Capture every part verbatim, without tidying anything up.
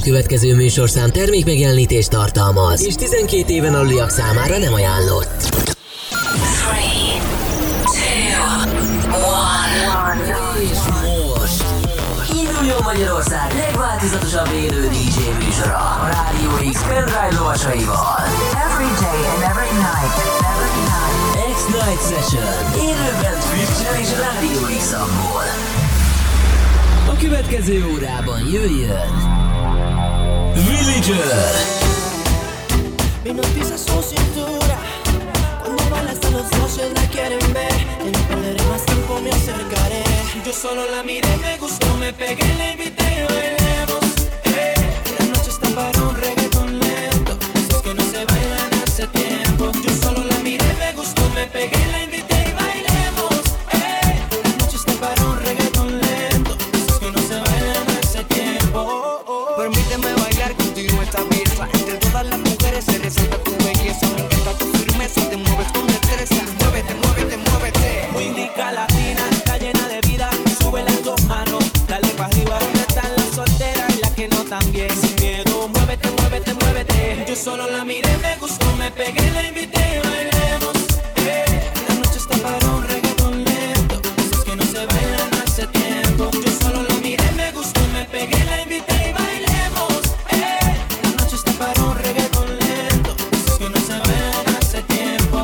következő műsorszám termékmegjelenítést tartalmaz, és tizenkét éven aluliak számára nem ajánlott. three, two, one. És most induljon Magyarország legváltozatosabb élő dé dzsé műsora a Rádió X pendrive lovasaival. Every day and every night, every night. X-Night Session. Élőben Twitch-en és Rádió X-amból. A következő órában jöjjön Villager. Mi noticia su cintura. Cuando bailas a los ojos la quieren ver. Y no perderé más tiempo, me acercaré. Yo solo la miré, me gustó, me pegué, la invité y bailemos. Eh, la noche está para un reggaetón lento. Esos que no se bailan hace tiempo. Yo solo la miré, me gustó, me pegué, la invité y bailemos. Eh, la noche está para un reggaetón lento. Esos que no se bailan hace tiempo. Oh, oh. Permíteme bailar contigo esta pieza. Entre todas las mujeres se resalta tu belleza. Me encanta tu firmeza, te mueves con destreza. Muévete, muévete, muévete. Muy rica latina, está llena de vida. Sube las dos manos, dale pa' arriba. ¿Dónde están las solteras y las que no también? Sin miedo, muévete, muévete, muévete. Yo solo la miré, me gustó, me pegué, la invité y bailemos. Eh, la noche está para un reggaetón lento. Esos que no se bailan hace tiempo. Yo solo la miré, me gustó, me pegué, la invité y bailemos. Eh, la noche está para un reggaetón lento. Esos que no se bailan hace tiempo.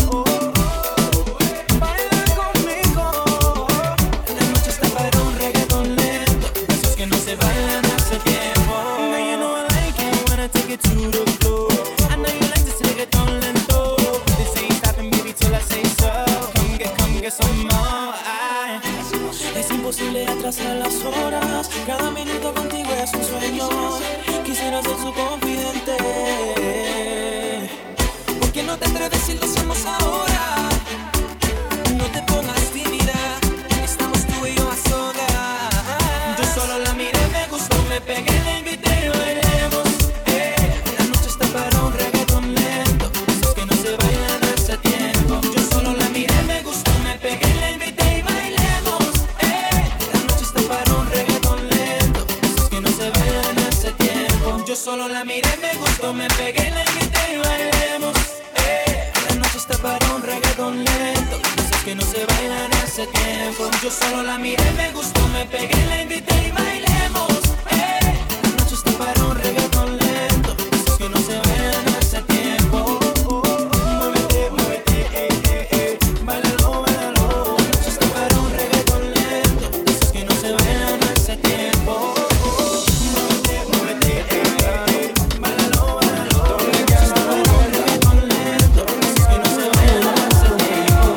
Baila conmigo. La noche está para un reggaetón lento. Esos que no se bailan hace tiempo. Now you know I like it when I take it to the floor. I know you like this reggaetón lento. This ain't stopping, baby, till I say so. Come get, come get some more. Ay. Es imposible atrasar las horas. Cada minuto contigo es un sueño. Quisiera ser su confidente. ¿Por qué no te atreves si lo hacemos ahora? No te pongas tímida. Estamos tú y yo a solas. Yo solo la miré, me gustó, me pegué, la invité y bailemos. Eh, la noche está para un reggaetón lento. Esos que no se bailan hace tiempo. Yo solo la miré, me gustó, me pegué, la invité y bailemos. Eh, la noche está para un reggaetón lento. Esos que no se bailan hace tiempo. Yo solo la miré, me gustó, me pegué, la invité y bailemos. Eh, la noche está para un reggaetón lento. Esos que no se bailan hace tiempo. Yo solo la miré, me gustó, me pegué, la invité y bailemos. Eh, la noche está para un reggaetón lento. Esos que no se bailan hace tiempo. Muévete, muévete, eh, eh, eh. Báilalo, báilalo. La noche está para un reggaetón lento. Esos que no se bailan hace tiempo. Muévete, muévete, eh, eh, eh. Báilalo, báilalo. La noche está para un reggaetón lento. Esos que no se bailan hace tiempo.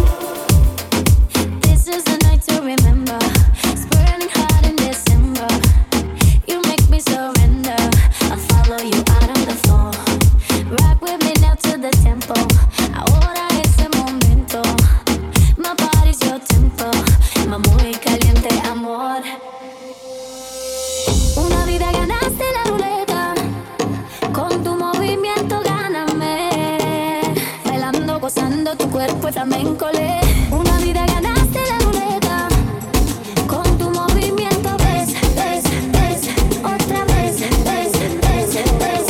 This is the night to remember. It's burning hot in December. You make me surrender. I'll follow you out on the floor. Rock with me now to the tempo. Ahora es el momento. My body's your tempo. My muy caliente amor. Una vida ganaste la ruleta. Con tu movimiento gáname. Bailando, gozando tu cuerpo es flamenco. le. Una vida ganaste la ruleta. Con tu movimiento ves, ves, ves. Otra vez, ves, ves, ves.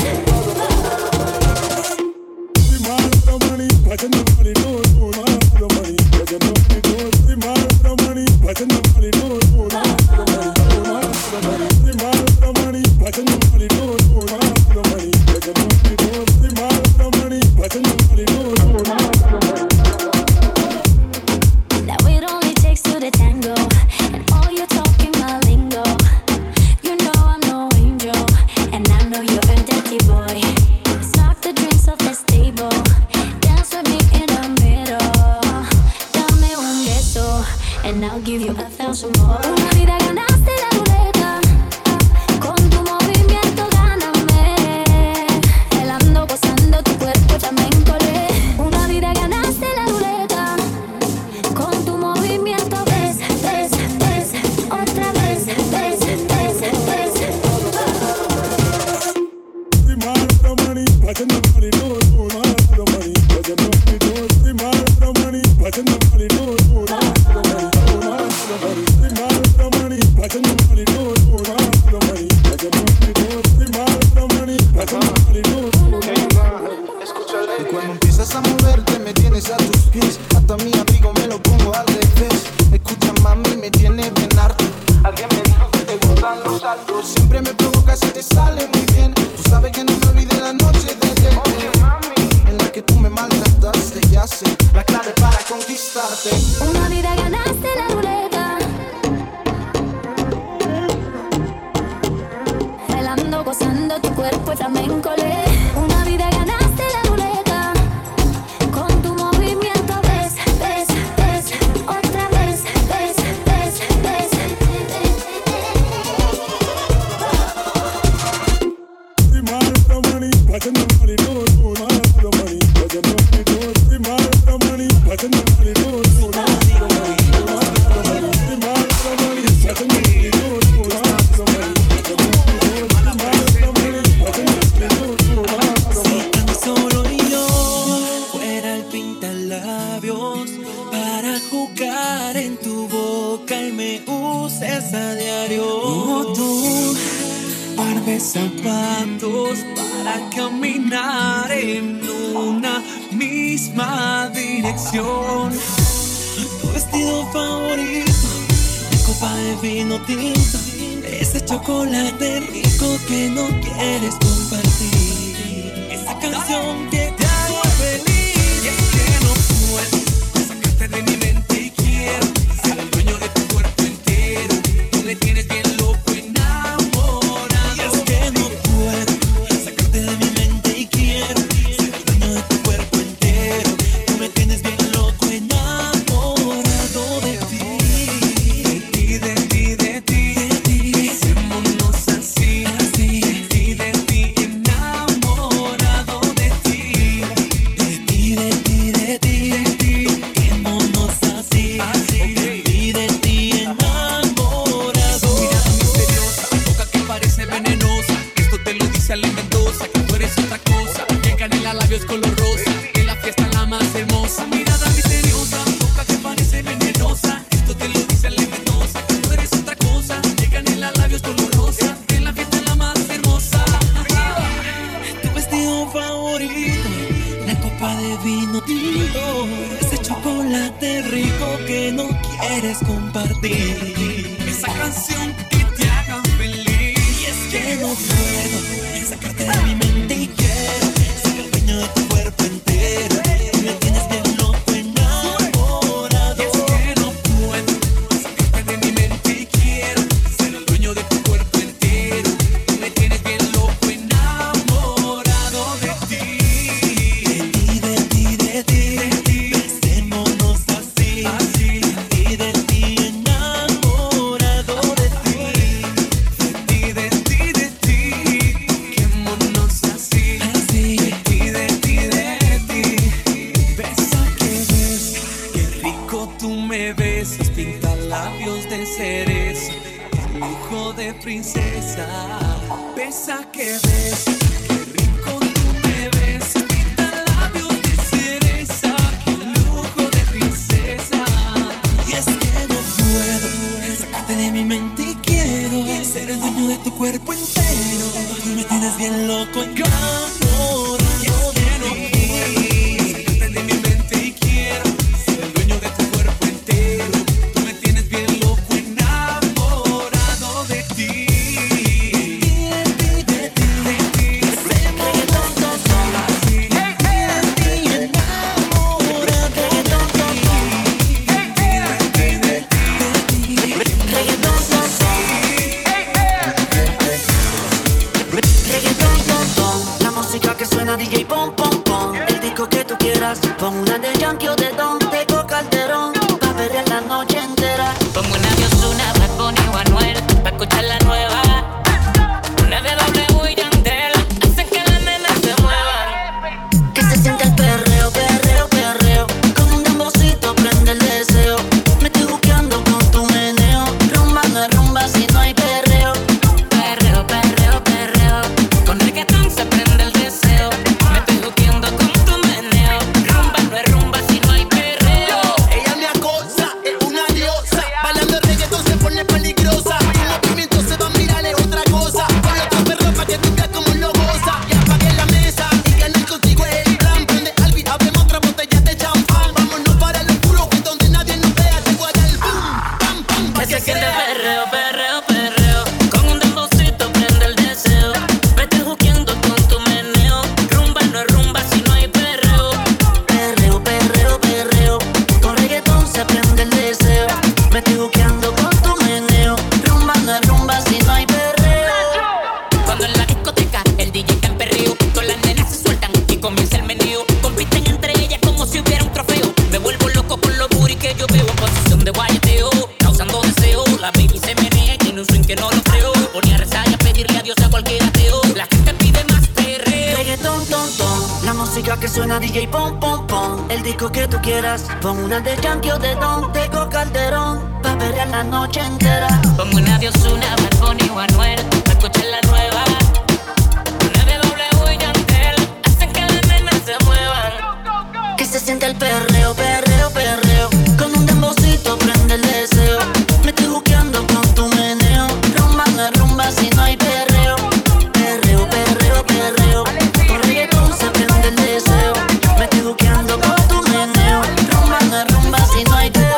siempre me provocas y te sale muy bien. Tú sabes que no me olvidé la noche de ayer, en la que tú me maltrataste. Ya sé la clave para conquistarte. Una vida ganaste la ruleta, bailando, gozando tu cuerpo es flamenco. Una vida ganaste la ruleta, con tu movimiento ves, ves, ves, otra vez, ves, ves, ves. Zapatos para caminar en una misma dirección. Tu vestido favorito, mi copa de vino tinto, ese chocolate rico que no quieres compartir, esa canción que te hago feliz. Y es que no puedo sacarte de mi mente y quiero ser el dueño de tu cuerpo entero. Tú me tienes bien loco. Si no hay fiesta cualquiera te oye. La gente pide más perreo. Reggaetón, ton, ton. La música que suena D J, pom, pom, pom. El disco que tú quieras. Pon una de Yankee o de Don, Tego Calderón. Pa' perrear la noche entera. Pongo una de Ozuna, Bad Bunny o Anuel. Pa' escuchar la nueva. Una de W y Yandel. Hacen que las nenas se muevan. Que se siente el perreo, perreo, perreo. Con un dembocito prende el deseo. Me estoy juqueando con tu meneo. Rumba, no es rumba si no hay perreo. Perreo, perreo, perreo. Con reggaetón se prende el deseo. Me estoy juqueando con tu meneo. Rumba, no es rumba si no hay perreo.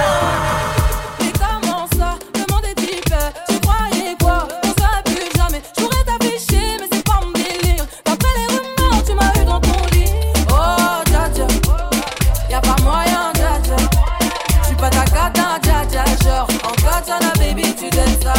Mais comment ça, vraiment des types? Tu croyais quoi? On serait plus jamais. J'pourrais t'afficher, mais c'est pas mon délire. D'après les rumeurs, tu m'as eu dans ton lit. Oh, dja dja, y'a pas moyen, dja dja. J'suis pas ta cata, dja dja. Genre, en katana, baby, tu donnes ça.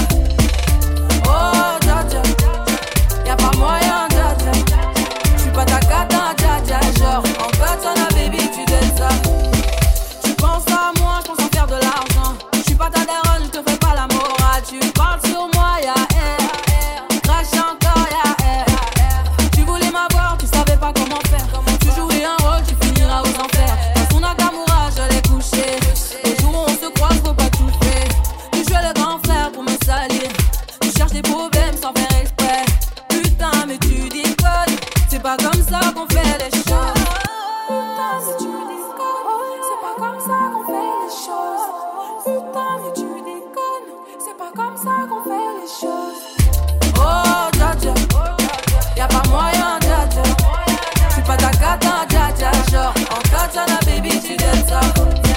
Oh, dja dja, y'a pas moyen, dja dja. J'suis pas ta cata, dja dja. Genre, en katana, baby, tu donnes ça. Tu penses à moi, je pense en faire de l'argent. Je suis pas ta daronne, je te fais pas la morale. Tu parles sur moi, y'a air, air. Crache encore, y'a air, air. Tu voulais m'avoir, tu savais pas comment faire. Tu jouais un rôle, tu finiras aux enfers. Dans son Nakamura, je l'ai couché. Les jours où on se croise, faut pas tout faire. Tu jouais le grand frère pour me salir. Tu cherches des problèmes sans faire exprès. Putain, mais tu déconnes. C'est pas comme ça qu'on fait les choses. Putain, mais tu déconnes. C'est pas comme ça qu'on fait les choses. Putain, mais tu déconnes. C'est pas comme ça qu'on fait les choses. Oh, dja dja, y'a pas moyen, dja dja. J'suis pas ta cata, dja dja. Genre, en katana, baby, tu donnes ça.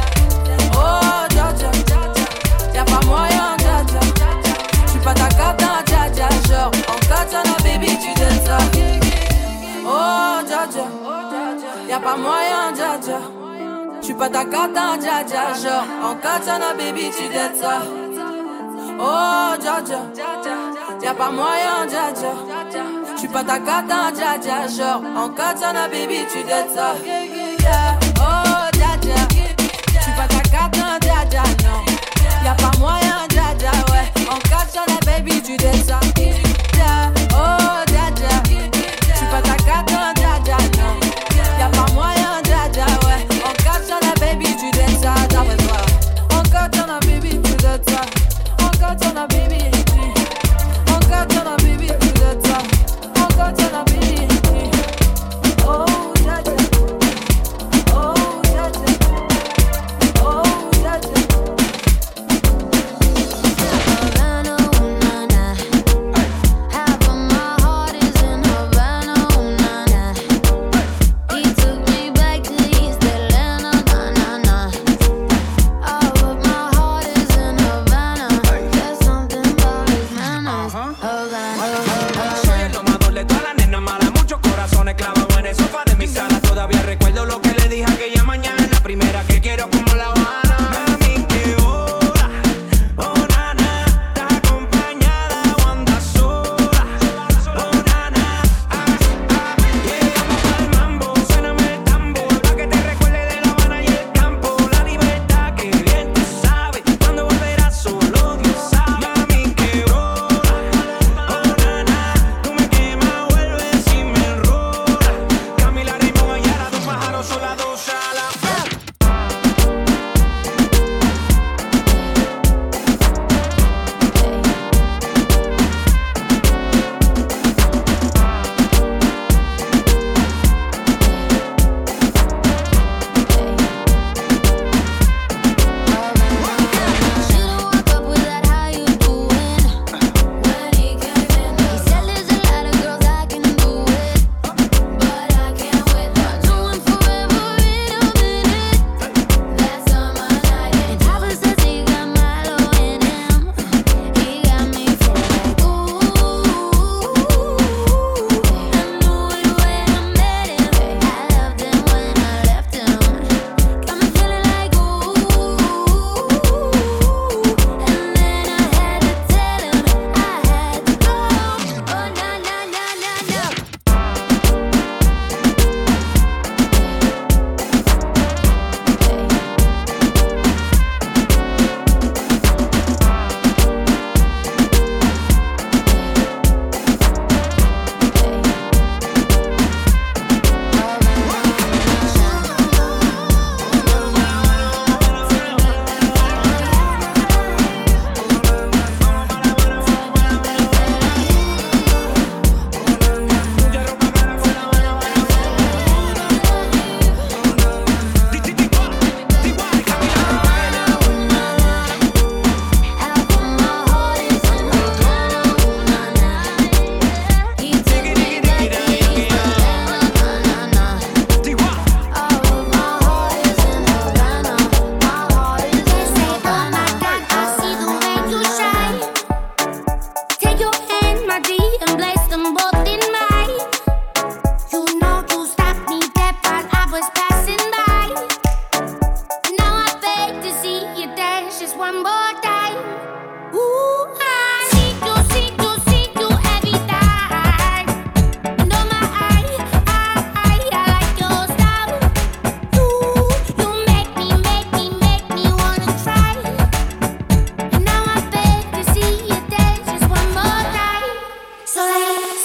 Oh, dja dja, y'a pas moyen, dja dja. J'suis pas ta cata, dja dja. Genre, en katana, baby, tu donnes ça. Oh, dja dja, y'a pas moyen, dja dja. J'suis pas ta cata, dja dja. Genre, en katana, baby, tu donnes ça. Oh, dja dja, y'a pas moyen, dja dja. J'suis pas ta cata, dja dja. Genre, en katana, baby, tu donnes ça. Oh, dja dja, j'suis pas ta cata, dja dja, non. Y'a pas moyen, dja dja, ouais. En katana, baby, tu donnes ça. Oh, dja dja, j'suis pas ta cata, dja dja, non. Y'a pas moyen, dja dja, ouais. En katana, baby, tu donnes ça, d'après toi. En katana, baby, tu donnes ça. En katana, baby, en katana, baby, tu donnes ça. En katana, baby. Oh, dja dja. Oh, dja dja. Oh, dja dja.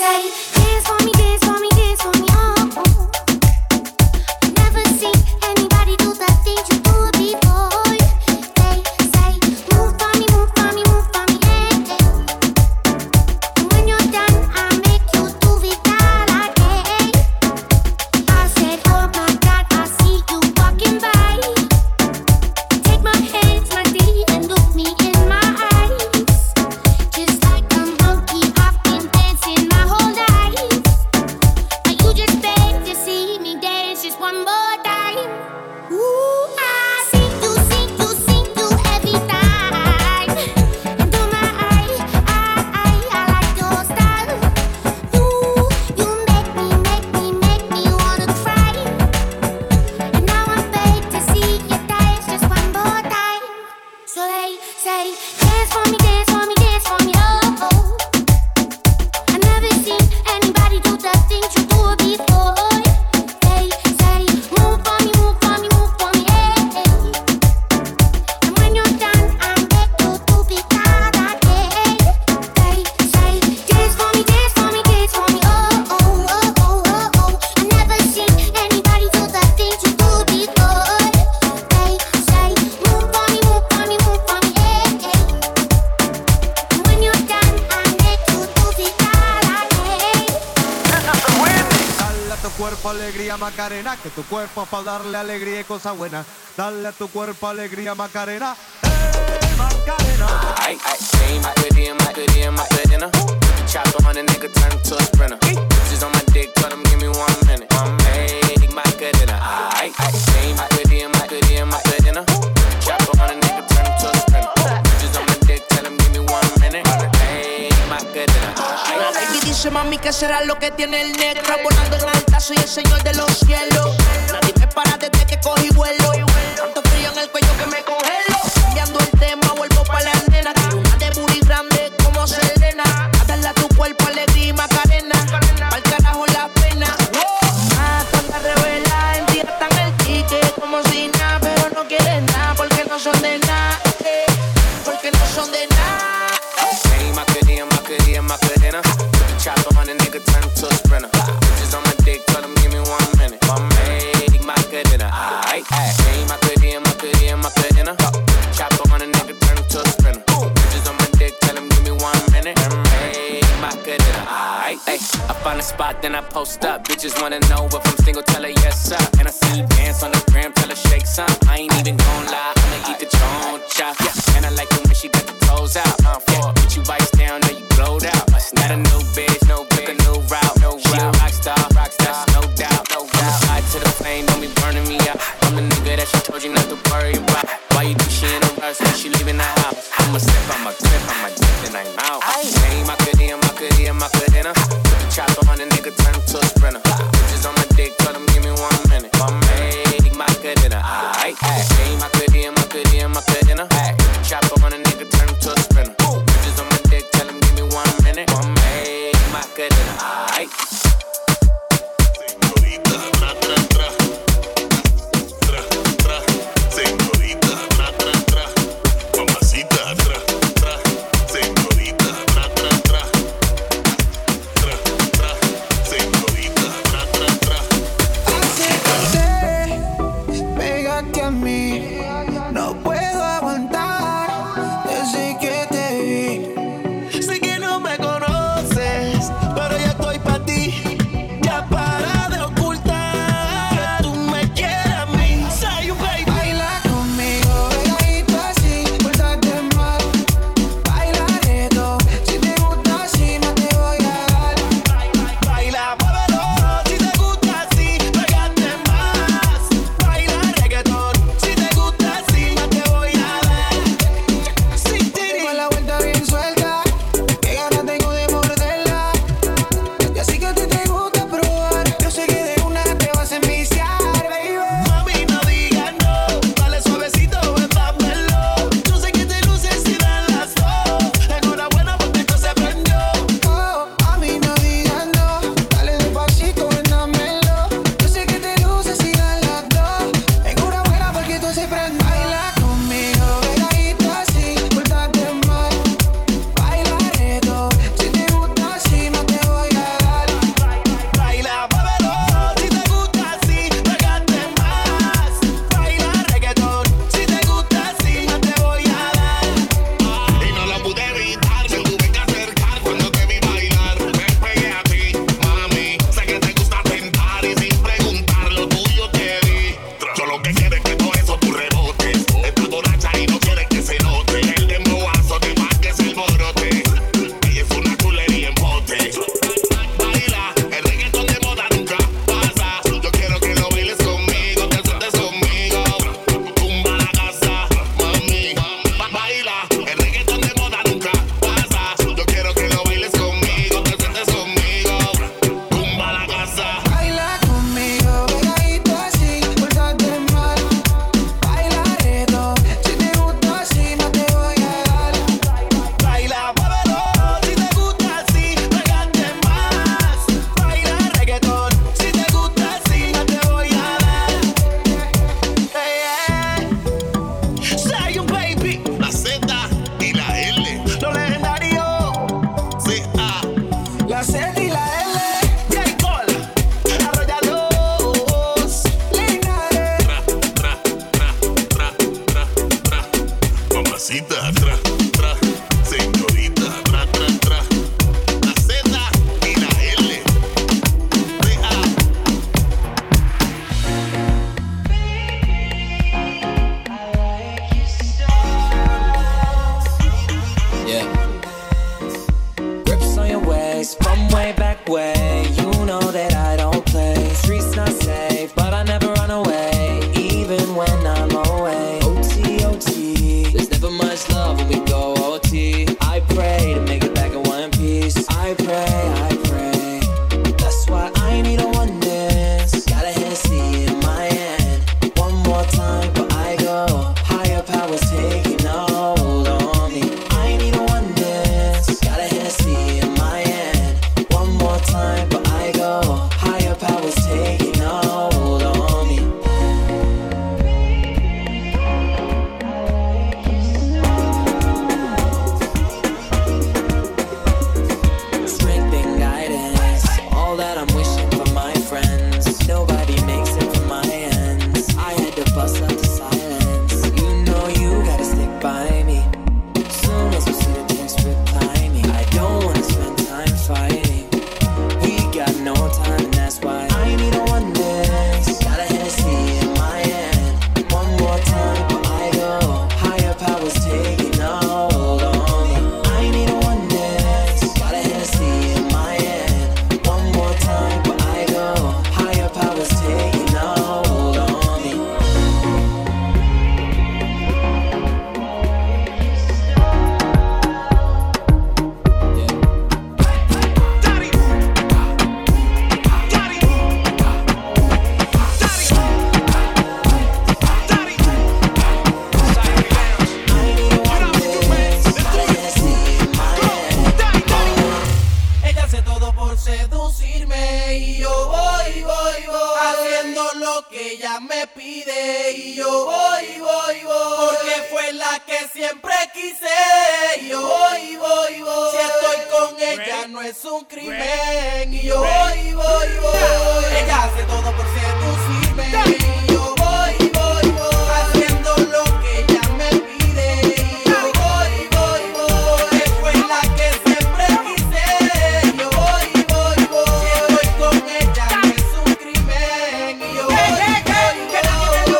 alegría Macarena, que tu cuerpo es para darle alegría y cosas buenas. Dale a tu cuerpo alegría Macarena, hey Macarena. Ay, ay, hey Macarena, Macarena, Macarena. Chopper on a nigga, turn to a sprinter. Bitches on my dick, tell them give me one minute. Hey Macarena, ay, ay, hey Macarena, Macarena, Macarena. Chopper on a nigga, turn to a sprinter. Bitches on my dick, tell them give me one minute. Hey Macarena. La baby dice mami que será lo que tiene el negro. Volando en alta, soy el señor de los cielos. Nadie me para desde que cogí vuelo. Tanto frío en el cuello que me congelo. Cambiando el tema, vuelvo pa' la nena. Quiero una de booty grande como Selena. A darle a tu cuerpo alegría y Macarena. Pa'l carajo la pena. Ah, toda revela, en ti están el ticket como si nada. Pero no quieren nada porque no son de nada. Eh, porque no son de nada. Hey Macarena, Macarena, Macarena. Put the chopper on a nigga, turn to a sprinter. Bitches on my dick, tell them give me one minute. Hey Macarena, ay, ay. Hey Macarena, Macarena, Macarena. Chopper on a nigga, turn to a sprinter. Bitches on my dick, tell them give me one minute. Hey Macarena, ay, ay. I find a spot, then I post up. Bitches wanna know if I'm single, tell her yes sir. And I see you dance on the gram, tell her shake some. I ain't even gon' lie, I'ma eat the choncha. Yeah. And I like it when she got the toes out. Uh, yeah. Get you bites down, now you glowed out. Not a new bitch, no bitch, a new route. No she route. A rock star, rock star, no doubt. No doubt. I'm tied to the flame, don't be burning me out. I'm the nigga that she told you not to worry about. Why you think she in a rush when she leaving the house? I'ma sip, I'ma grip, I'ma dip, then I'm out. Hey, Macarena, Macarena, Macarena. Put the chopper on a nigga, turn to a sprinter. Bitches on my dick, tell them give me one minute. Hey, Macarena, ay, ay. Hey, Macarena, Macarena, Macarena. Put the chopper on a nigga, turn to a sprinter. Bitches on my dick, tell them give me one minute. Hey, Macarena. back way. You know that I don't play. Streets not safe, but I never run away, even when I'm away. O T, O T, there's never much love when we go O T. I pray to make it back in one piece. I pray, I pray. That's why I need a one dance. Got a Hennessy in my hand. One more time, but I go. Higher powers taking a hold on me. I need a one dance. Got a Hennessy in my hand. One more time, but I go. Higher powers taking a hold on me. Strength and guidance, all that I'm wishing for my friends. Nobody makes it from my ends. I had to bust out the silence. You know you gotta stick by me. Soon as you see the text, reply me. I don't wanna spend time fighting. We got no time, and that's why I need a one dance. Got a Hennessy in my hand. One more time, but I go. Higher powers taking a hold on me. I need a one dance. Got a Hennessy in my hand. One more time, but I go. Higher powers taking a hold on me. Ella hace todo por seducirme y yo voy, voy, voy haciendo lo que ella me pide y yo voy, voy, voy porque fue la que siempre quise y yo voy, voy, voy si estoy con ella no es un crimen y yo voy, voy, voy ella hace todo por seducirme y yo voy, voy, voy haciendo lo que ella me pide y yo voy, voy, voy porque fue la que siempre quise y yo voy, voy, voy si estoy con ella no es un crimen y yo voy, voy,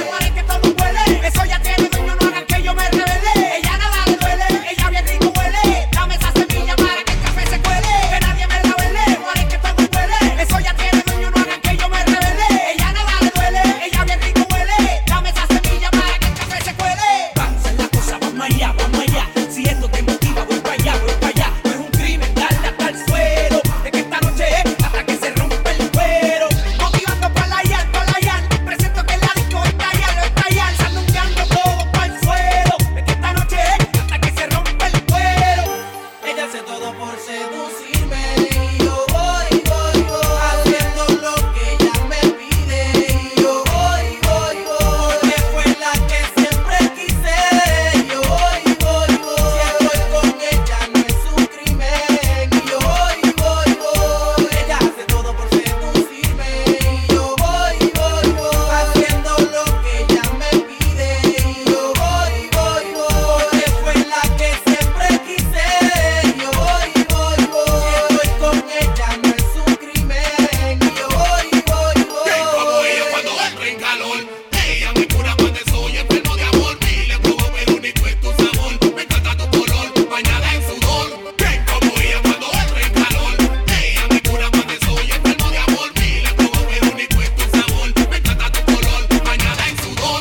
voy Eso ya tiene dueño, no hagan que yo me revele. Ella nada le duele, ella bien rico huele. Dame esa semilla para que el café se cuele. Que nadie me la vele, muere que todo huele. Eso ya tiene dueño, no hagan que yo me revele. Ella nada le duele, ella bien rico huele. Dame esa semilla para que el café se cuele. Vamos a la cosa, vamos allá, vamos allá. Si esto te motiva, voy para allá, voy para allá. No es un crimen darle hasta el suelo. Es que esta noche es hasta que se rompe el cuero. Motivando para la yal, para la yal. Presento que la disco está allá, lo está allá. Sandungueando todo para el suelo. Es que esta noche es hasta que se rompe el cuero. ella hace todo por seducirme y yo voy, voy, voy haciendo lo que ella me pide y yo voy, voy, voy porque fue la que siempre quise y yo voy, voy, voy si estoy con ella no es un crimen y yo voy, voy, voy ella hace todo por seducirme y yo voy, voy, voy haciendo lo que ella me pide y yo voy, voy, voy porque fue la que siempre quise y yo voy, voy, voy si estoy con ella no es un crimen y yo voy, voy, voy Como ella cuando entra en calor. Ella muy pura cuando soy enfermo de amor. Y le probo pero único es tu sabor. Me encanta tu color, bañada en sudor. Ven como ella cuando entra en calor. Ella muy pura cuando soy enfermo de amor. Y le probo pero único es tu sabor. Me encanta tu color, bañada en sudor.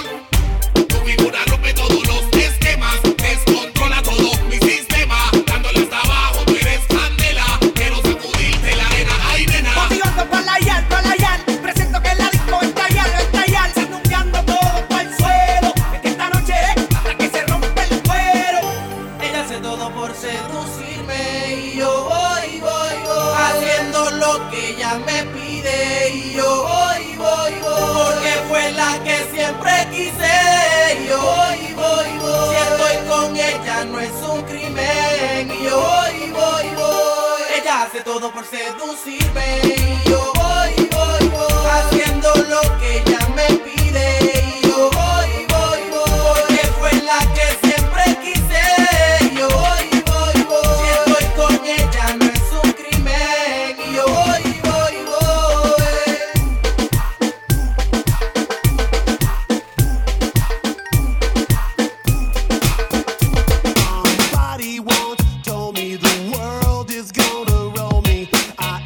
Tu figura rompe todos los esquemas. Descontrola todo mi sistema. Dándole hasta abajo, tú eres candela. Quiero sacudirte la arena, ay nena. Motivando para la yal, para la yal. Presento que la disco está allá, lo está allá. Sandungueando todo para el suelo. Es que esta noche es hasta que se rompe el cuero. ella hace todo por seducirme y yo voy, voy, voy haciendo lo que ella me pide y yo voy, voy, voy porque fue la que siempre quise y yo voy, voy, voy si estoy con ella no es un crimen y yo voy, voy, voy ella hace todo por seducirme y yo voy, voy, voy haciendo lo que ella me pide y yo voy, voy, voy porque fue la que siempre quise y yo voy, voy, voy si estoy con ella no es un crimen y yo voy, voy, voy Somebody once told me the world is gonna roll me. I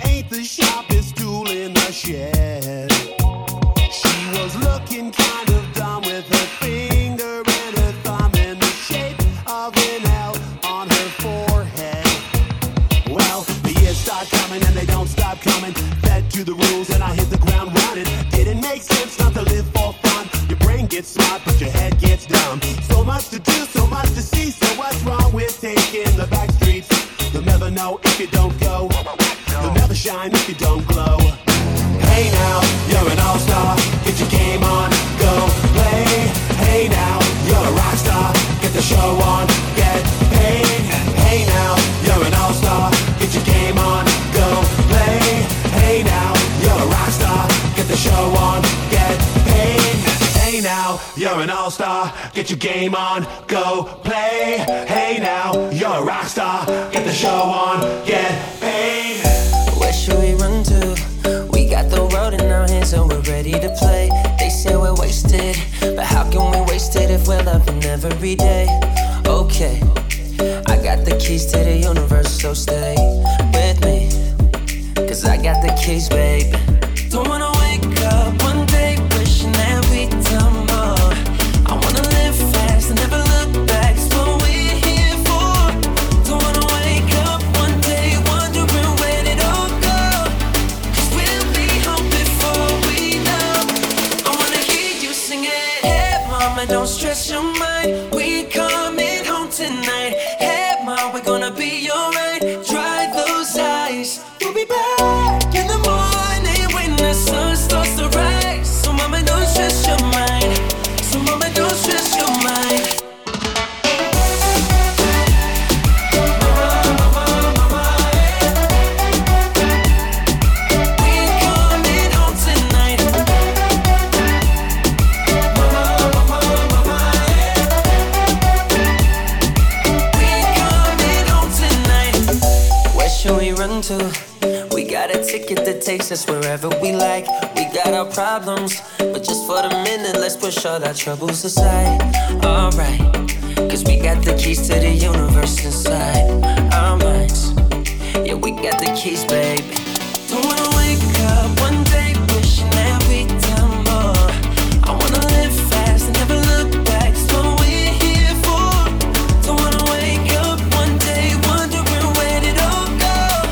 stop coming. Fed to the rules and I hit the ground running. Didn't make sense not to live for fun. Your brain gets smart but your head gets dumb. So much to do, so much to see. So what's wrong with taking the back streets? You'll never know if you don't go. You'll never shine if you don't glow. Hey now, you're an all-star. Get your game on, go play. Hey now, you're a rock star. Get the show on, get paid. Hey now, you're an all-star. Get your game on, go play. Hey now, you're a rock star. Get the show on, get paid. Hey now, you're an all-star. Get your game on, go play. Hey now, you're a rock star. Get the show on, get paid. Where should we run to? We got the world in our hands and we're ready to play. They say we're wasted, but how can we waste it if we're loving every day? Okay, I got the keys to the universe, so stay with me, cause I got the keys, babe. Don't wanna wake up one day wishing that we'd done more. I wanna live fast and never look back, it's what we're here for. Don't wanna wake up one day wondering where it all go, cause we'll be home before we know. I wanna hear you sing it. Hey mama, don't stress your mind, we coming home tonight. Hey mama, we're gonna be alright. Dry those eyes, we'll be back in the morning when the sun starts to rise. So mama, don't stress your mind. So mama, don't stress your mind. To. We got a ticket that takes us wherever we like. We got our problems, but just for the minute, let's push all our troubles aside. Alright, cause we got the keys to the universe inside our minds. Yeah, we got the keys, baby. Don't wanna wake up one day wishing that we'd done more. I wanna live fast and never look back, it's what we're here for. Don't wanna wake up one day wondering where it all go.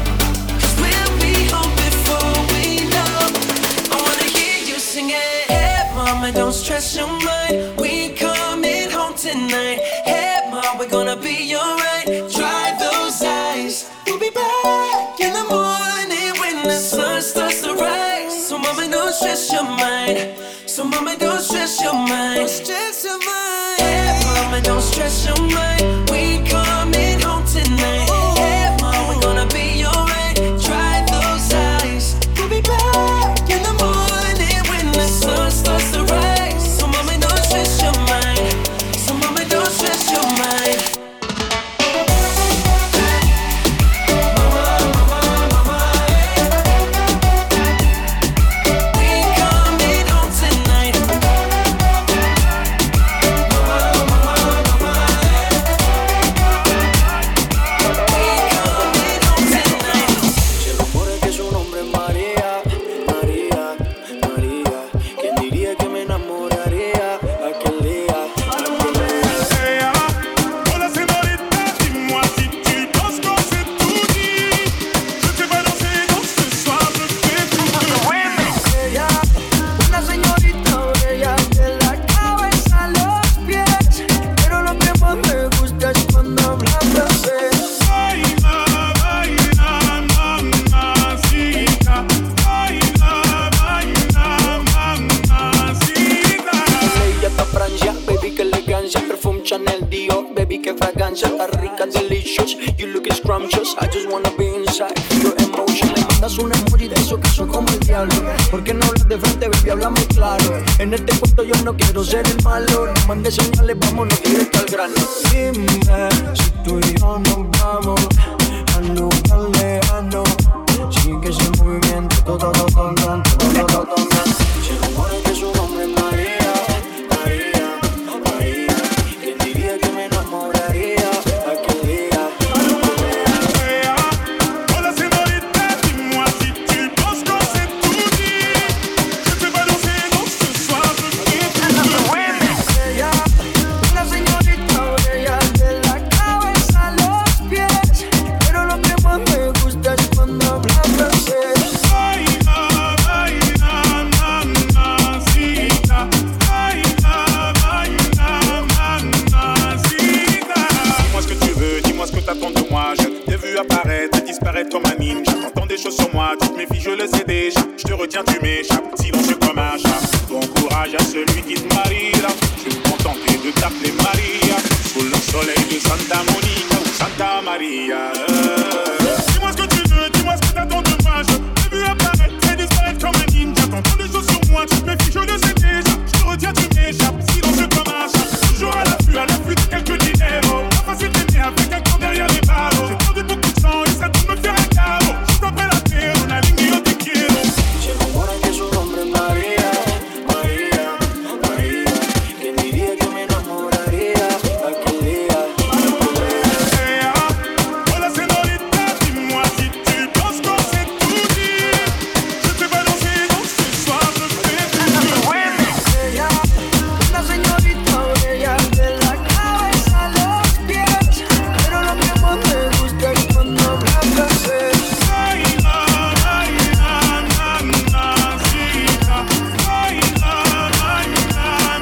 Mama, don't stress your mind, we coming home tonight. Hey mom, we're gonna be alright. Dry those eyes, we'll be back in the morning when the sun starts to rise. So mama, don't stress your mind. So mama, don't stress your mind. Don't stress your mind. Hey mama, don't stress your mind, we coming home tonight. Hey mom, we're gonna be alright. Dry those eyes, we'll be back in the morning when the sun starts to rise. So mama, don't stress your mind. So mama, don't stress your mind. I just wanna be inside your emotion. Le mandas un emoji de eso que son como el diablo. ¿Por qué no hablas de frente, baby? Háblame claro. En este cuento yo no quiero ser el malo. No mandes señales, vámonos directo al grano. Dime si tú y yo nos vamos al lugar lejano. Sigue ese movimiento, todo, todo, todo, todo, todo, todo, todo. Se rumora que su nombre es María, María, María. ¿Quién diría que me enamoraría aquel día? Me gusta es cuando choses sur moi, toutes mes filles je le sais déjà. Je te retiens, tu m'échappes, silencieux comme un chat. Bon courage à celui qui te mariera. Je vais me contenter de t'appeler Maria. Sous le soleil de Santa Monica ou Santa Maria. euh. Dis-moi ce que tu veux, dis-moi ce que t'attends de moi. Je t'ai vu apparaître et disparaître comme un ninja. T'entends des choses sur moi, toutes mes filles je le sais déjà. Je te retiens, tu m'échappes, silencieux comme un chat. Toujours à l'affût, à l'affût de quelques dinero. Pas facile d'aimer avec un camp derrière les barreaux. J'ai perdu beaucoup de sang et ça doit me faire un carreau. Juste après la terre, on a ligne yo te quiero. Se rumora que su nombre es María, María, María. ¿Quién diría que me enamoraría aquel día? Hola señorita, dis-moi si tu penses qu'on s'est tout dit. Je te balancer donc ce soir, je fais tout. Ella, una señorita bella de la cabeza a los pies. Pero lo que más me gusta es cuando me abraces. Ay, ay, ay, nanacita. Ay, ay, ay,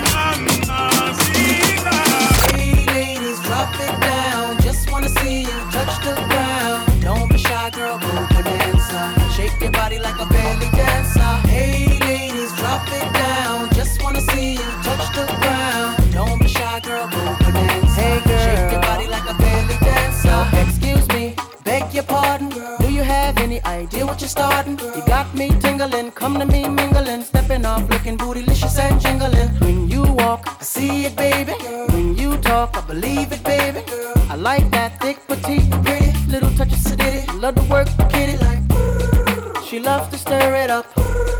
nanacita. Hey ladies, drop it down. Just wanna see you touch the ground. Don't be shy, girl, go bonanza. Shake your body like a belly dancer. Hey ladies, drop it down. Just wanna see you touch the ground. Don't be shy, girl, go bonanza. Hey girl, shake your body like a belly dancer. Excuse me, beg your pardon. Do you have any idea what you're starting? You got me tingling, come to me mingling, stepping off, looking bootylicious and jingling. When you walk, I see it, baby. When you talk, I believe it, baby. I like that thick, petite, pretty, little touch of sedity. Love to work the kitty like. She loves to stir it up.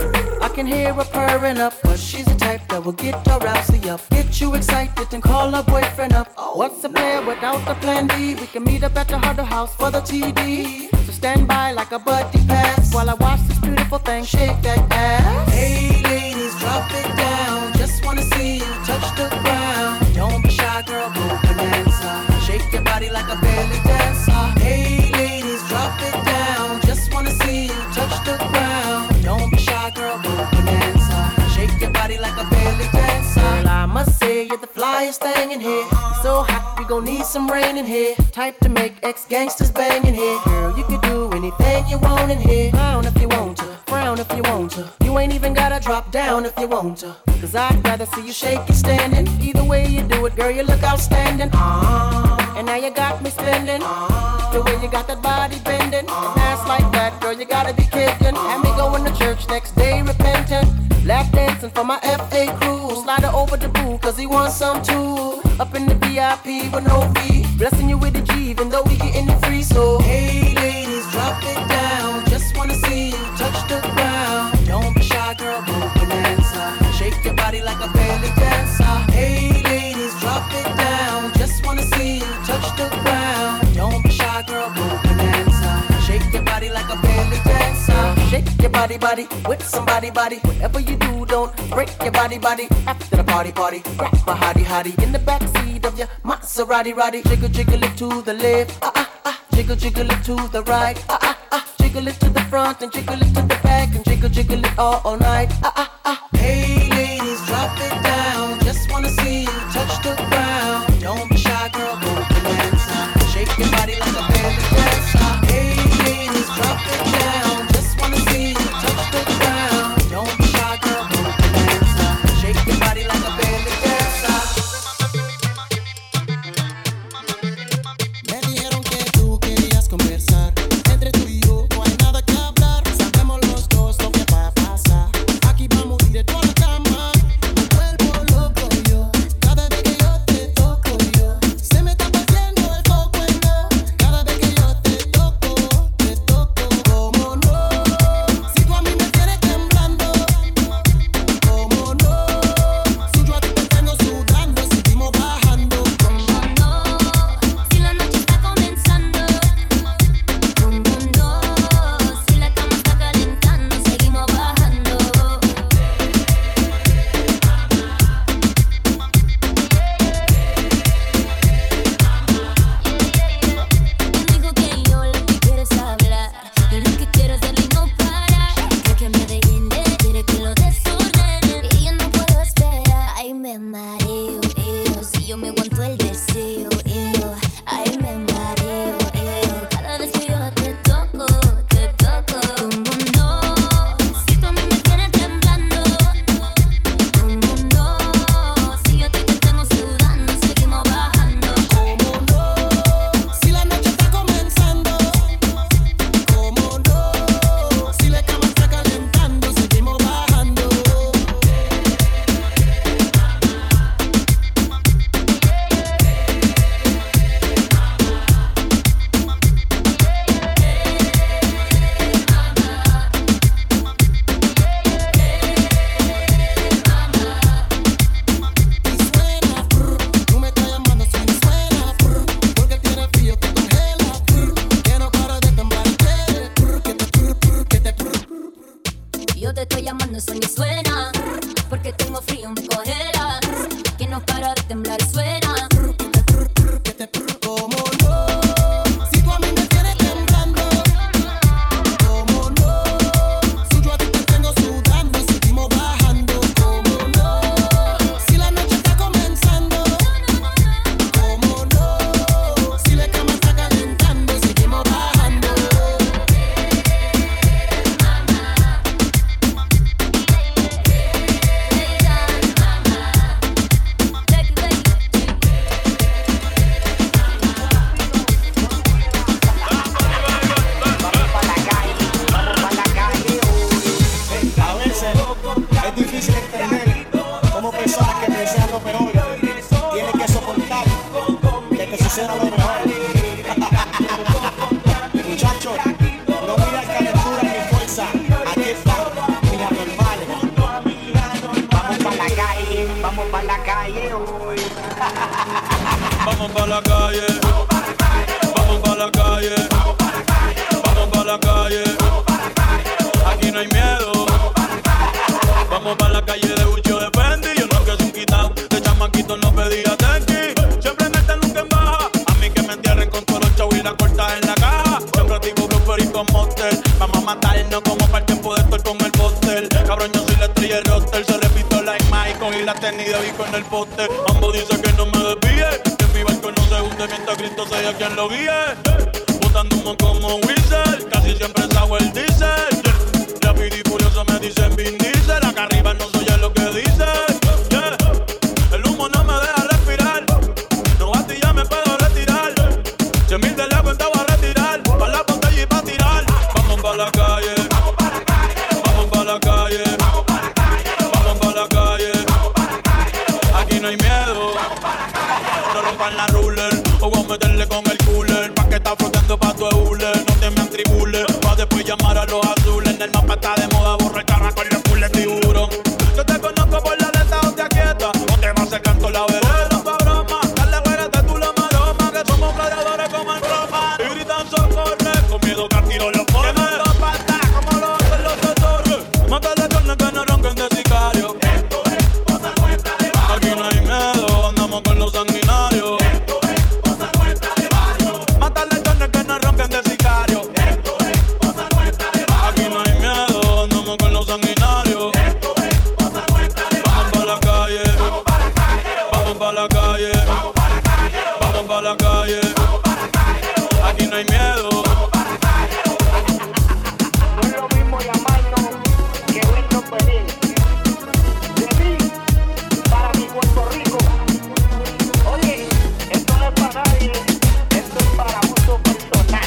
I can hear her purring up, but she's the type that will get her rousey up, get you excited and call her boyfriend up. What's the plan without the plan B? We can meet up at the Huddle House for the T D. So stand by like a buddy pass while I watch this beautiful thing shake that ass. Hey ladies, drop it down. Just wanna see you touch the ground. Don't be shy, girl, go bonanza. Shake your body like a belly dancer. Hey ladies, drop it down. Just wanna see you touch the ground. Don't be shy, girl, go bonanza. Shake your body like a belly dancer. Girl, I must say you're the flyest thing in here. It's so hot, we gon' need some rain in here. Type to make ex-gangsters bang in here. Girl, you can do anything you want in here. Frown if you want to, frown if you want to. You ain't even gotta drop down if you want to. Cause I'd rather see you shake it standing. Either way you do it, girl, you look outstanding. Uh, and now you got me spending. Uh, the way you got that body bending. And ass like that, girl, you gotta be kidding. Had me going to church next day repentant. Lap dancing for my F A crew. Slide her over the boo, cause he wants some too. Up in the V I P with no fee. Blessing you with a G, even though we getting it free. So, hey ladies, drop it down. Just wanna see you touch the ground. Don't be shy, girl, go bonanza. Shake your body like a belly dancer. Hey ladies, drop it down. Just wanna see you touch the ground. Don't be shy, girl, go bonanza. Shake your body like a belly dancer. Shake your body, body, with somebody, body. Whatever you do, don't break your body, body. After the party, party, grab a hottie, hottie in the backseat of your Maserati, roddy. Jiggle, jiggle it to the left, ah ah ah. Jiggle, jiggle it to the right, ah ah ah. Jiggle it to the front and jiggle it to the back and jiggle, jiggle it all, all night, ah ah ah. Hey ladies, drop it down. Just wanna see you touch the ground. Don't be shy, girl, go bonanza. Shake your body like a belly dancer. Hey ladies, drop it down. Just wanna see you touch the ground. Don't be shy, girl, go bonanza. Shake your body like a belly dancer. Me dijeron que tú querías conversar. Entre tú y yo no hay nada que hablar. Sabemos los dos lo que va a pasar. Aquí vamos directo a la cama. Tu cuerpo loco yo. Cada vez que yo te yo te estoy llamando, eso ni suena. Porque tengo frío, me congelas. Que no para de temblar, suena. ¿Cómo no? Si tú a mí me tienes temblando. ¿Cómo no? Si yo a ti te tengo sudando, seguimos bajando. ¿Cómo no? Si la noche está comenzando. ¿Cómo no? Si la cama está calentando, seguimos bajando. A veces es difícil entender cómo personas que te desean lo peor tienen que soportar que te suceda lo mejor. Muchachos, no miran calentura ni fuerza. Aquí están mis anormales. Vamos pa' la calle, vamos pa' la calle hoy. Vamos pa' la calle, vamos pa' la calle, vamos pa' la calle, aquí no hay miedo. Vamos pa' la calle de Ucho de Fendi, yo no que soy un quitao, de chamaquito no pedía tenki. Siempre en esta nunca en baja, a mí que me entierren con todos los chavos y la cortas en la caja. Siempre activo Blooper y con Monster, vamos a matarnos como para el tiempo de estar con el póster. Cabrón, yo soy la estrella del roster, se repito like Michael y la tenis de Vico en el póster. Mambo dice que no me desvíe, que mi barco no se hunde mientras Cristo sea quien lo guíe. Botando humo como Whistle, casi siempre sabe el diesel. Rápido y furioso me dicen Vin Diesel, acá arriba no soy lo que dice. Yeah. El humo no me deja respirar, no a ti ya me puedo retirar. Cien mil de la cuenta voy a retirar, pa' la botella y pa' tirar. Vamos pa' la calle, vamos pa' la calle, vamos pa' la calle, aquí no hay miedo. No rompan la ruler, o voy a meterle con el cooler, pa' que está flotando pa' tu hule. No te me atribules, pa' después llamar a los azules. En el mapa está de moda, borra carra con los cules tiburón. Yo te conozco por la lenta o te aquieta, o te vas secando la vereda. No pa' broma, dale güerete tú la maroma, que somos gladiadores como en Roma. Y gritan socorre, con miedo que al tiro los pone. Que no nos falta, como lo hacen los doctores. Mátale carne que no ronquen de sicario. Esto es cosa nuestra de barrio. Aquí no hay miedo, andamos con los sanguinarios. Esto es cosa nuestra de barrio. Mátale carne que no ronquen de sicario. Esto es cosa nuestra de barrio. Aquí no hay miedo, andamos con los sanguinarios. Esto es cosa nuestra de barrio. Vamos pa' la calle, vamos pa' la calle, vamos pa' la calle, vamos pa' la calle, vamos pa' la calle, vamos pa' la calle. Aquí no hay miedo. No es lo mismo llamarnos que vernos pedir. De mí, para mi Puerto Rico. Oye, esto no es para nadie, esto es para uso personal.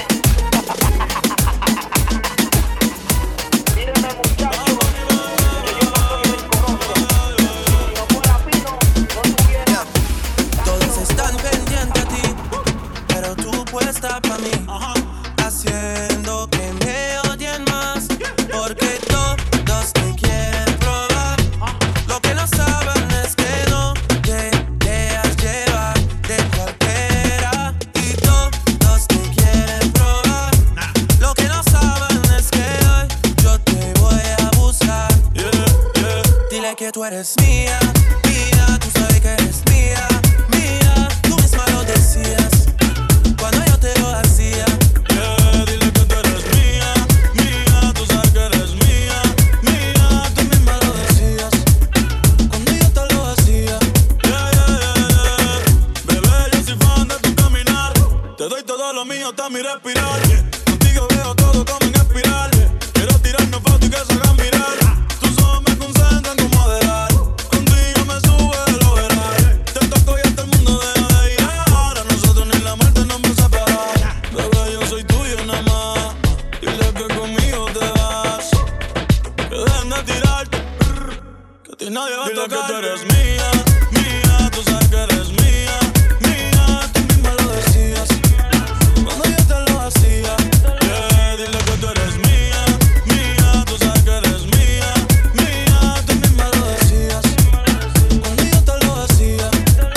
Mírenme muchachos, que yo no soy el corozo. Si no fuera Pino, no tuviera. Todos están pendientes a ti, pero tú puesta pa' mí, haciendo que me odien más, porque todos te quieren probar. Lo que no saben es que no te dejas llevar de cualquiera, y todos te quieren probar. Lo que no saben es que hoy yo te voy a buscar. Dile que tú eres mía, mía, tú sabes que eres mía, mía, tú misma lo decías cuando yo te lo hacía. Yeah, dile que tú eres mía, mía, tú sabes que eres mía, mía, tú misma lo decías cuando yo te lo hacía. Yeah, yeah, yeah, yeah. Bebé, yo soy fan de tu caminar, te doy todo lo mío hasta mi respirar. Contigo veo todo como en espiral, quiero tirarnos fotos y que se hagan mirar. Tus ojos me concentran como moderar, contigo me sube de lo veral. Te toco y hasta el mundo deja de ir. Ahora nosotros ni la muerte nos va a separar. Bebé, yo soy tuyo nada más, dile que conmigo te vas, que dejen de tirarte, que a ti nadie va a tocar. Dile que tú eres mía, mía, tú sabes que eres mía, mía, tú misma lo decías cuando yo te lo hacía. Yeah, dile que tú eres mía, mía, tú sabes que eres mía, mía, tú misma lo decías cuando yo te lo hacía.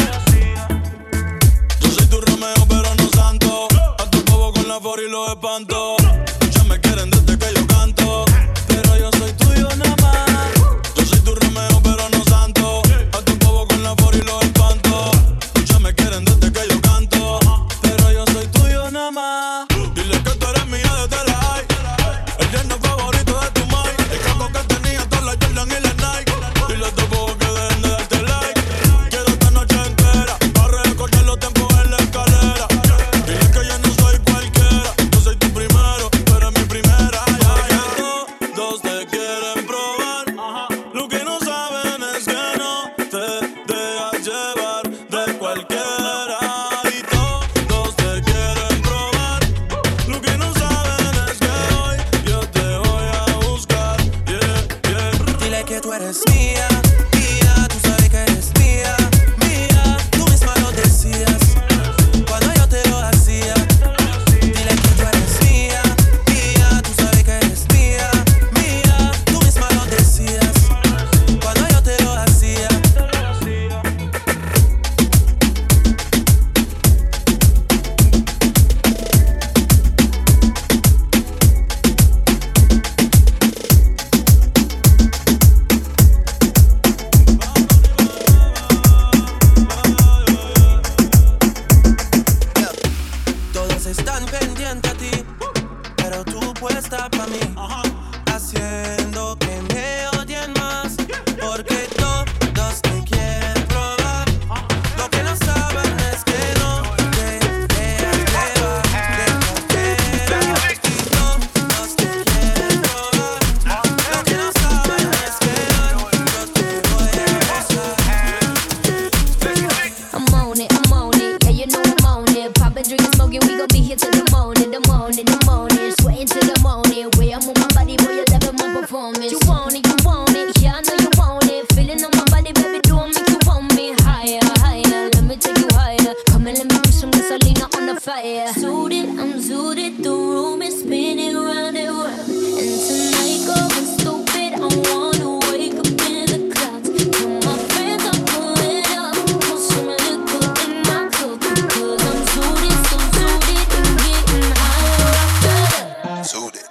Yo soy tu Romeo pero no santo, a tu bobo con la for y los espanto. Ya me quieren desde que yo canto, pero yo soy tuyo nada eres mía, mía, tú sabes que eres mía, mía, tú misma lo decías cuando yo te lo hacía. Dile que tú eres mía, mía, tú sabes que eres mía, mía, tú misma lo decías cuando yo te lo hacía. Todos están pendientes a ti, pero tú puesta pa' mí, haciendo que me odien más, porque todos te quieren probar. Lo que no saben es que no te dejas llevar de cualquiera, y todos te quieren probar. Lo que no saben es que no, yo te voy a mostrar. I'm on it, I'm on it, yeah you know I'm on it. Poppin', drinkin', smoking, we gon' be here till the morning, the morning, the morning. Sweating till the morning, way I move my body, boy, you loving my performance. You want it, you want it, yeah I know you want it. Feeling on my body, baby, do I make you want me higher, higher? Let me take you higher. Come and let me put some gasolina on the fire. Suited, I'm suited, the room is spinning round and round. And tonight going stupid, I wanna wake up in the clouds. Tell my friends I'm pulling up, put some liquor in my cup, because I'm suited, so suited, and getting higher. Suited.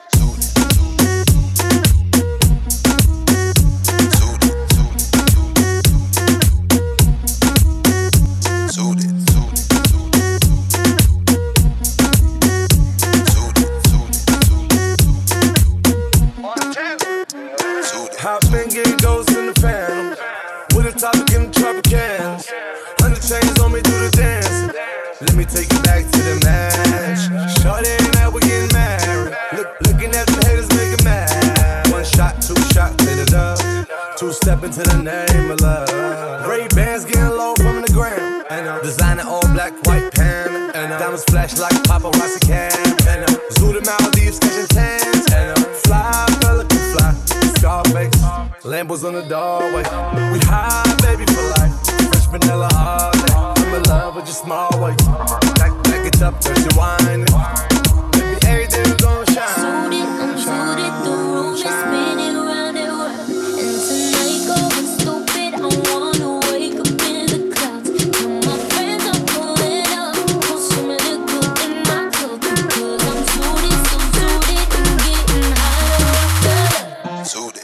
Hop and get ghosts in the phantom. With a topic in the Tropicans. Hundred chains on me, do the dance. Let me take you back to the match. Shorty and I, we getting married. Look, looking at the haters, making mad. One shot, two shot, hit it up. Two step into the name of love. Ray bands getting low from the ground. And uh, designer all black, white pan. And uh, diamonds flash like paparazzi can. And uh, zoo to Maldives, catching tans. And uh, fly, fella can fly. Scarface, Lambos on the doorway. We high, baby, for life. Fresh vanilla all day. I'm in love with your small waist. Back, back it up, there's your wine. Baby, everything's gonna shine. Suited, I'm suited, the room is spinning round and round. And tonight going stupid, I wanna wake up in the clouds. Tell my friends I'm pulling up, put some liquor in my cup, because I'm suited, so suited, and getting higher. Suited.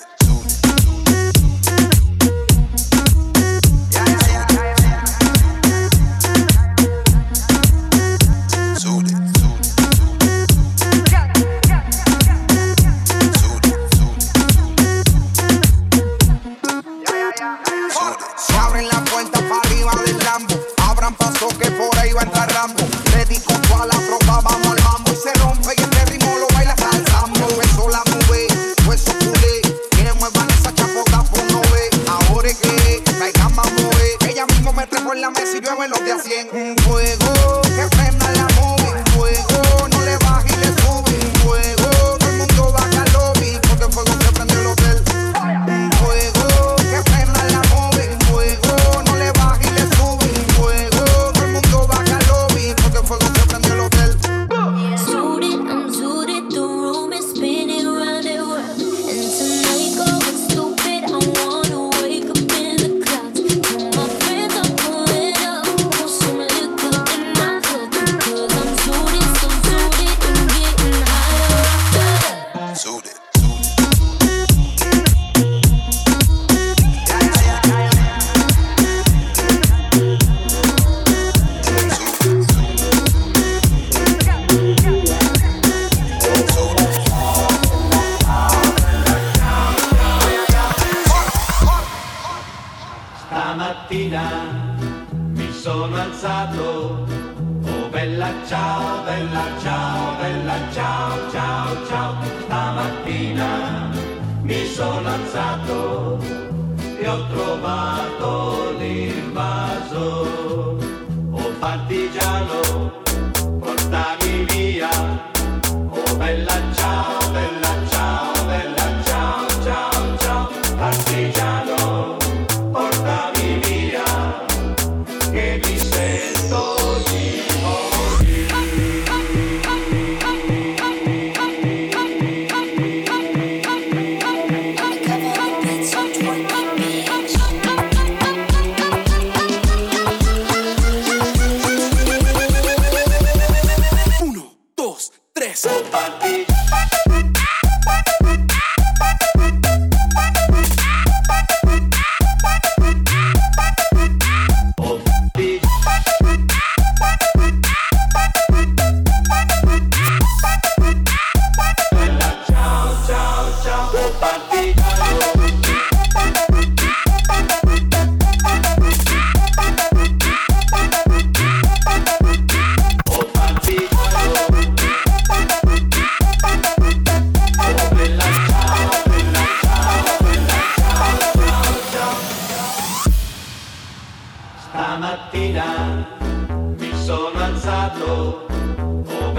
Se abren las puertas para arriba del Lambo. Abran paso que por ahí va a entrar Rambo. Ready con toda la tropa, vamos al mambo. Y se rompe y este ritmo lo baila salsando. Eso la nube, hueso culé. Que muevan esa chapota por no ve. Ahora es que traigan más mover. Ella mismo me trepo en la mesa y llueve los de a cien. Un fuego que prenda la movie. Un fuego, no le baje y le sube. Un fuego, todo el mundo baja al lobby. Porque el fuego se prende el hotel. Un fuego que prenda la movie. Un fuego, no le baje y le sube. Un fuego, todo el mundo baja al lobby. Porque el fuego se prende el hotel. Suited, I'm suited, the room is spinning round and round. And tonight going stupid, I wanna wake up in the clouds. Tell my friends I'm pulling up, put some liquor in my cup, because I'm suited, so suited, and getting higher. Suited. Stamattina mi sono alzato, oh bella ciao, bella ciao, bella ciao, ciao, ciao. Stamattina mi sono alzato e ho trovato l'invaso. Oh partigiano, portami via, oh bella ciao, bella ciao, bella ciao, ciao, ciao. Partigiano.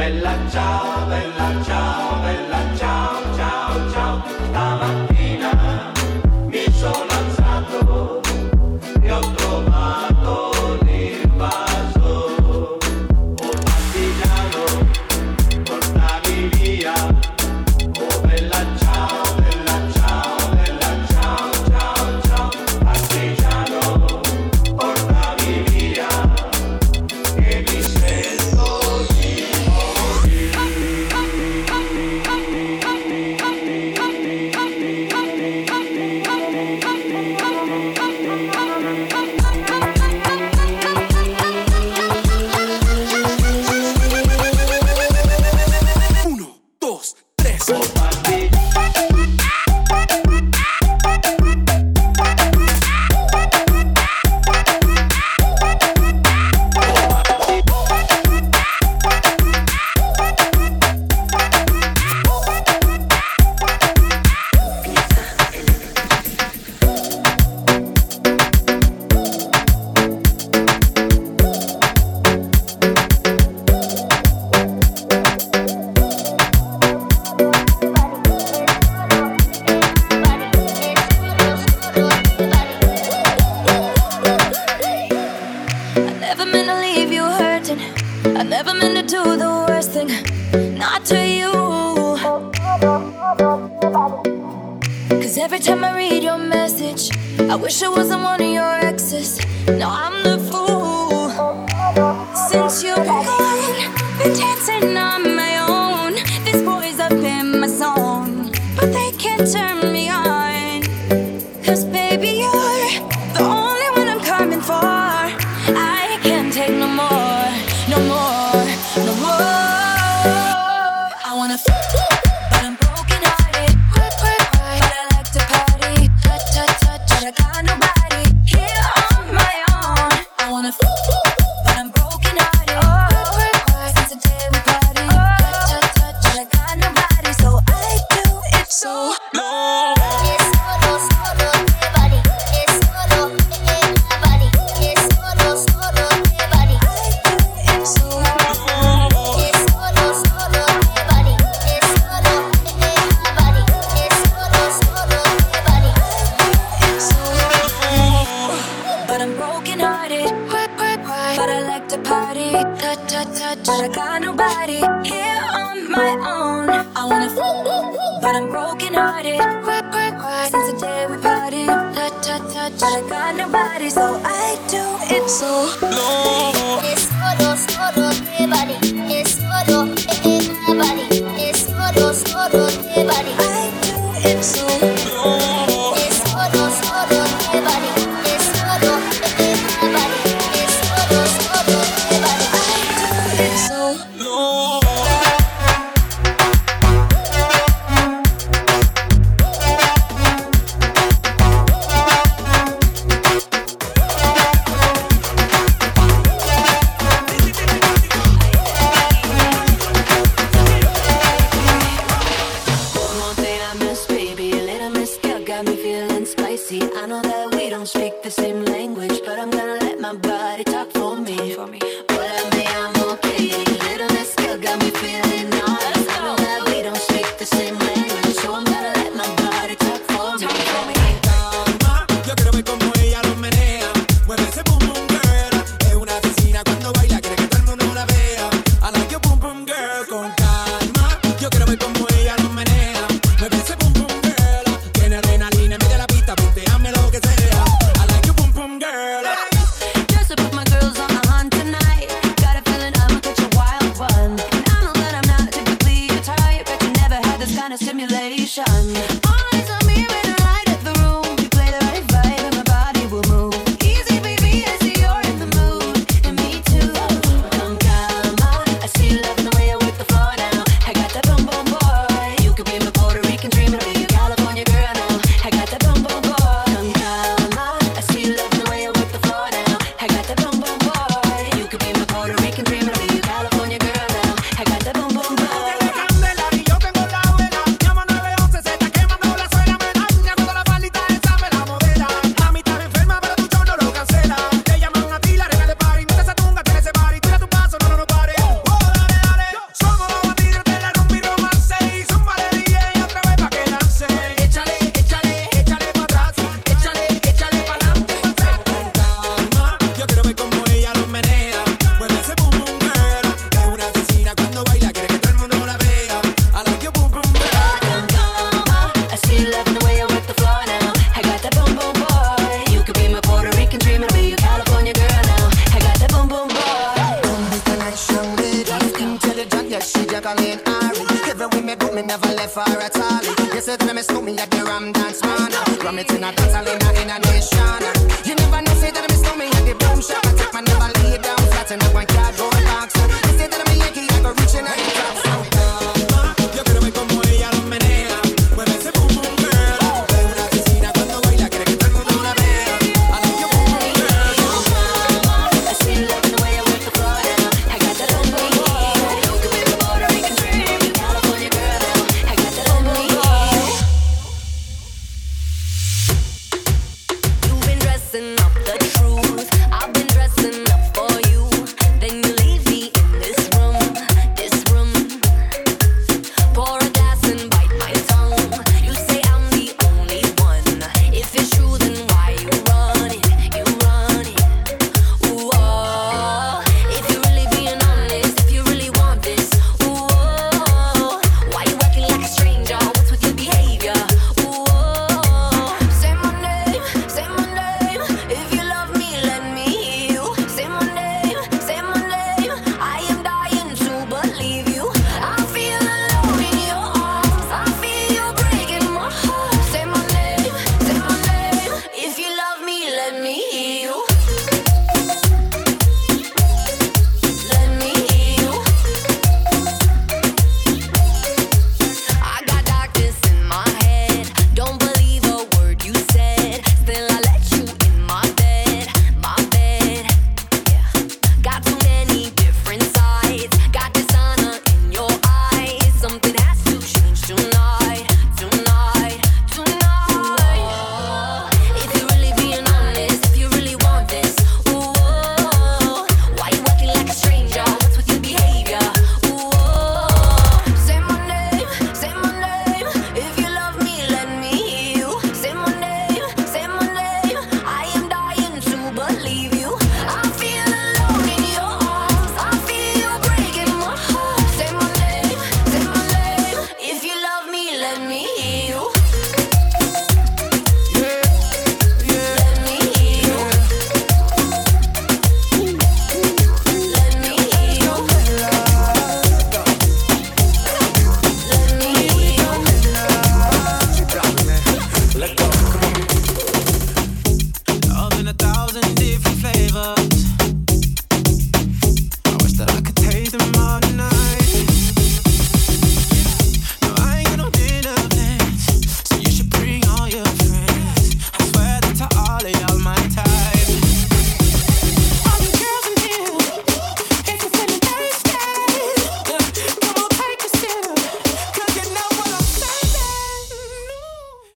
bella ciao, bella ciao, bella ciao, ciao, ciao. Stamattina mi sono alzato e ho trovato l'invaso. Oh partigiano, portami via. Oh bella ciao, bella ciao, bella ciao, ciao, ciao. Partigiano, portami via, che mi sento di every time I read your message, I wish I wasn't one of your exes. No, I'm the fool. Since you've been gone, been dancing on my own. These boys up in my zone, but they can't turn me on. Cause baby, you're the only one I'm coming for. I can't take no more, no more, no more. I wanna f- but I'm broken hearted. But I like to party, touch, touch, touch, but I got nobody here on my own. I wanna f- but I'm broken hearted. Since the day we party, touch, touch, touch, but I got nobody, so I do it so long. It's solo, solo, everybody. It's solo, everybody. It's solo, solo, everybody. I do it so long. It's solo, solo, everybody. It's solo, everybody. It's solo, solo, everybody. I do it so long. But I'm broken hearted. But I like to party. Touch, touch, touch. But I got nobody here on my own. I wanna f- but I'm broken hearted. Since the day we party. Touch, touch, touch. But I got nobody, so I do it so long. It's solo, solo, everybody. It's solo, everybody. It's solo, solo, everybody. I do it so long. It's solo, solo, everybody. It's solo, everybody. It's solo, solo, everybody. I do it so long. One thing I miss, baby, a little miss girl got me feeling spicy. I know that we don't speak the same language, but I'm gonna let my body talk for me. But I may, I'm okay. A little miss girl got me feeling nice. I know that we don't speak the same language, so I'm gonna let my body talk for me. Yo quiero ver cómo ella lo menea. Mueve ese boom boom girl. Es una asesina cuando baila, quiere que todo el mundo la vea. I like your boom boom girl con calma. Yo quiero ver cómo ella lo menea. Mueve ese boom boom girl. Tiene adrenalina en medio de la pista, punteame lo que sea. I like your boom boom girl. Just to put my girls on the hunt tonight. Got a feeling I'ma catch a wild one. And I know that I'm not typically from dance man. Ram it in a dance hall in a, in a nation. You never know, say that I'm stomach at the boom shop. I take my never lay down flat in a one cardboard box. You say that I'm a Yankee, I go reaching out the top.